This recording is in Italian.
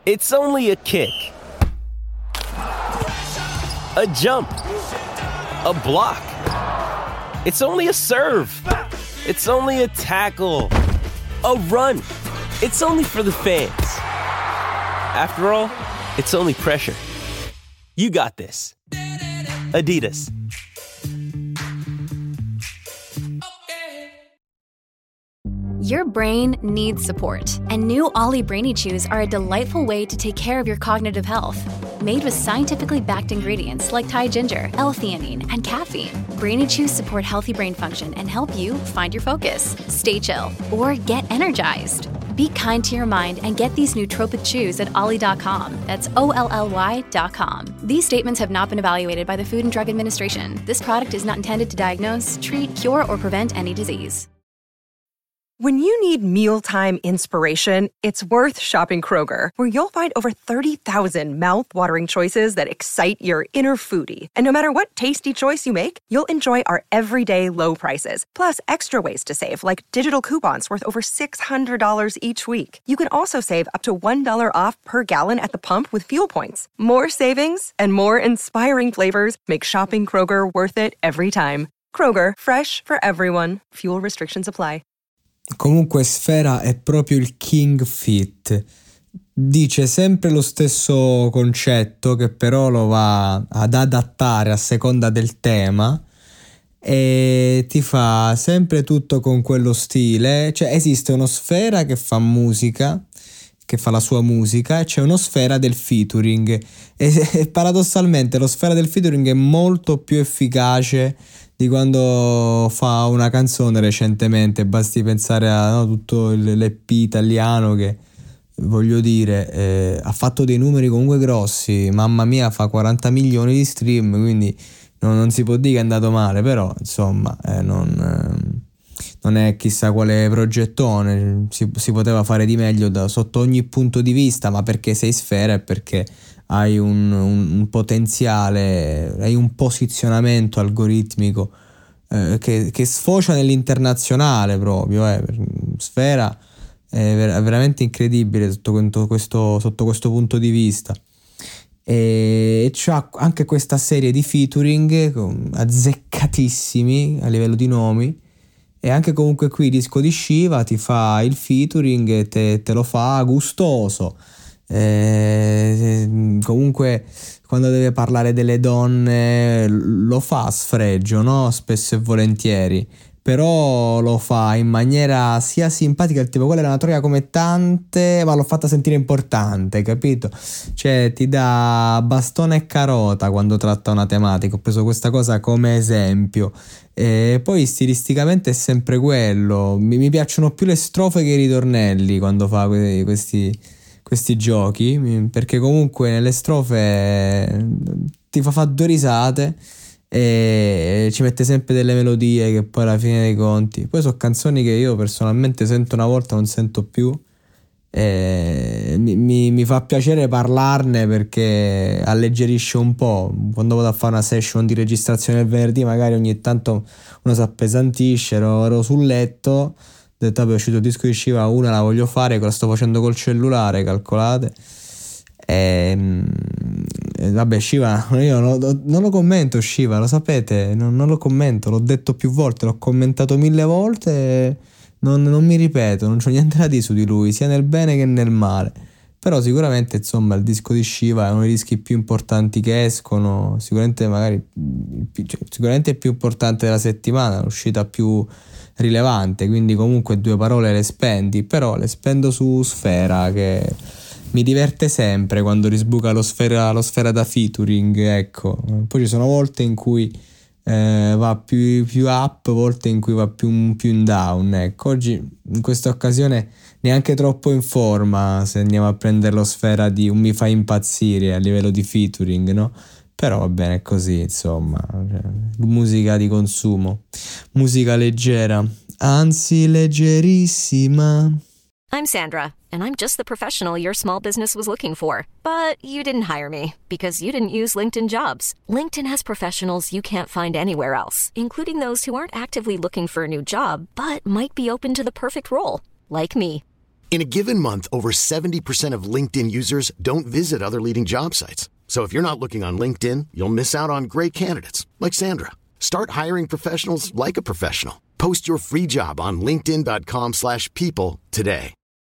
It's only a kick. A jump. A block. It's only a serve. It's only a tackle. A run. It's only for the fans. After all, it's only pressure. You got this. Adidas. Your brain needs support, and new Ollie Brainy Chews are a delightful way to take care of your cognitive health. Made with scientifically backed ingredients like Thai ginger, L-theanine, and caffeine, Brainy Chews support healthy brain function and help you find your focus, stay chill, or get energized. Be kind to your mind and get these nootropic chews at ollie.com. That's OLLY.com. These statements have not been evaluated by the Food and Drug Administration. This product is not intended to diagnose, treat, cure, or prevent any disease. When you need mealtime inspiration, it's worth shopping Kroger, where you'll find over 30,000 mouth-watering choices that excite your inner foodie. And no matter what tasty choice you make, you'll enjoy our everyday low prices, plus extra ways to save, like digital coupons worth over $600 each week. You can also save up to $1 off per gallon at the pump with fuel points. More savings and more inspiring flavors make shopping Kroger worth it every time. Kroger, fresh for everyone. Fuel restrictions apply. Comunque Sfera è proprio il king fit, dice sempre lo stesso concetto che però lo va ad adattare a seconda del tema e ti fa sempre tutto con quello stile. Cioè esiste uno Sfera che fa musica, che fa la sua musica, e c'è uno Sfera del featuring e paradossalmente lo Sfera del featuring è molto più efficace di quando fa una canzone recentemente. Basti pensare a tutto l'EP italiano che, voglio dire, ha fatto dei numeri comunque grossi, mamma mia, fa 40 milioni di stream, quindi non si può dire che è andato male, però insomma non è chissà quale progettone, si poteva fare di meglio sotto ogni punto di vista, ma perché sei Sfera e perché hai un potenziale, hai un posizionamento algoritmico che sfocia nell'internazionale proprio. Sfera è veramente incredibile sotto questo punto di vista. E c'ha anche questa serie di featuring azzeccatissimi a livello di nomi, e anche comunque qui il disco di Shiva ti fa il featuring e te lo fa gustoso. Comunque quando deve parlare delle donne lo fa a sfregio, no? Spesso e volentieri, però lo fa in maniera sia simpatica, tipo quella è una troia come tante, ma l'ho fatta sentire importante, capito? Cioè ti dà bastone e carota quando tratta una tematica. Ho preso questa cosa come esempio. E poi stilisticamente è sempre quello, mi piacciono più le strofe che i ritornelli quando fa questi giochi, perché comunque nelle strofe ti fa due risate e ci mette sempre delle melodie che poi alla fine dei conti poi sono canzoni che io personalmente sento una volta, non sento più, e mi fa piacere parlarne perché alleggerisce un po'. Quando vado a fare una session di registrazione il venerdì magari ogni tanto uno si appesantisce, ero sul letto, ho detto vabbè, è uscito il disco di Shiva, una la voglio fare, che la sto facendo col cellulare, calcolate. Vabbè, Shiva, io non lo commento, Shiva, lo sapete, non lo commento, l'ho detto più volte, l'ho commentato 1000 volte, non mi ripeto, non c'ho niente da dire su di lui, sia nel bene che nel male. Però sicuramente insomma il disco di Shiva è uno dei dischi più importanti che escono, sicuramente sicuramente è più importante della settimana, l'uscita più rilevante, quindi comunque due parole le spendi, però le spendo su Sfera, che mi diverte sempre quando risbuca lo Sfera da featuring, ecco. Poi ci sono volte in cui va più up, volte in cui va più in down, ecco. Oggi in questa occasione neanche troppo in forma se andiamo a prendere lo Sfera di un Mi fai impazzire a livello di featuring, no? Però va bene così, insomma, musica di consumo, musica leggera, anzi leggerissima. I'm Sandra, and I'm just the professional your small business was looking for. But you didn't hire me because you didn't use LinkedIn Jobs. LinkedIn has professionals you can't find anywhere else, including those who aren't actively looking for a new job, but might be open to the perfect role, like me. In a given month, over 70% of LinkedIn users don't visit other leading job sites. So if you're not looking on LinkedIn, you'll miss out on great candidates like Sandra. Start hiring professionals like a professional. Post your free job on linkedin.com/people today.